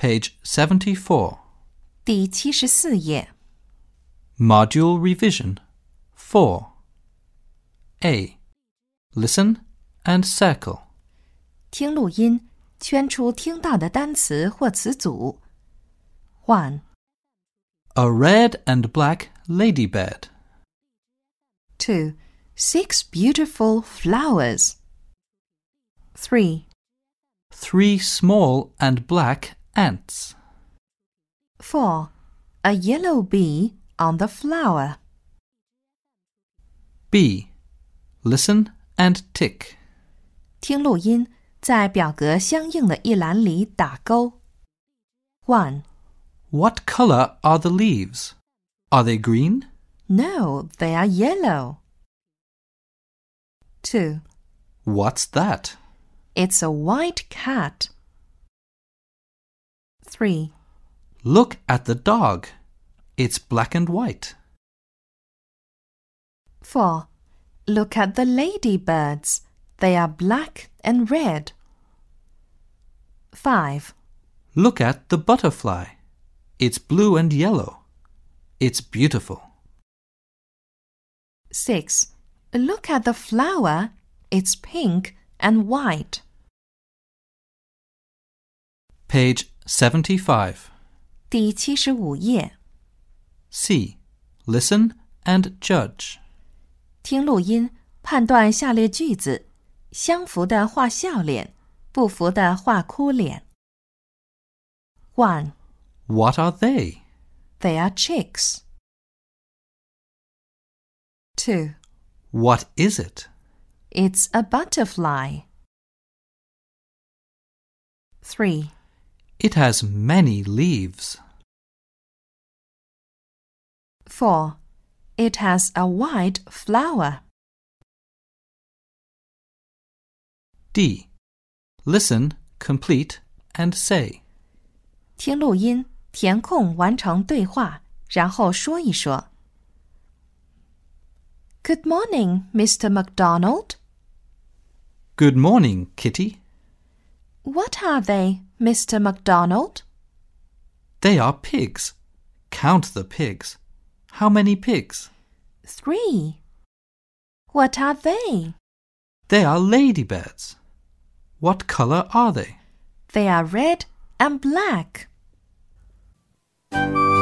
Page 74. 第74页。 Module Revision 4. A. Listen and circle. 听录音，圈出听到的单词或词组。1. A red and black ladybird. 2. 6 beautiful flowers. 3. 3 small and black ants. 4. A yellow bee on the flower. B. Listen and tick. 听录音，在表格相应的一栏里打勾。1. What color are the leaves? Are they green? No, they are yellow. 2. What's that? It's a white cat. 3. Look at the dog. It's black and white. 4. Look at the ladybirds. They are black and red. 5. Look at the butterfly. It's blue and yellow. It's beautiful. 6. Look at the flower. It's pink and white. Page 75. 第75页。 C. Listen and judge. 听录音，判断下列句子，相符的画笑脸，不符的画哭脸。1. What are they? They are chicks. 2. What is it? It's a butterfly. 3. It has many leaves. 4. It has a white flower. D. Listen, complete, and say. 听录音，填空完成对话，然后说一说。Good morning, Mr. McDonald. Good morning, Kitty. What are they, Mr. McDonald? They are pigs. Count the pigs. How many pigs? 3. What are they? They are ladybirds. What color are they? They are red and black.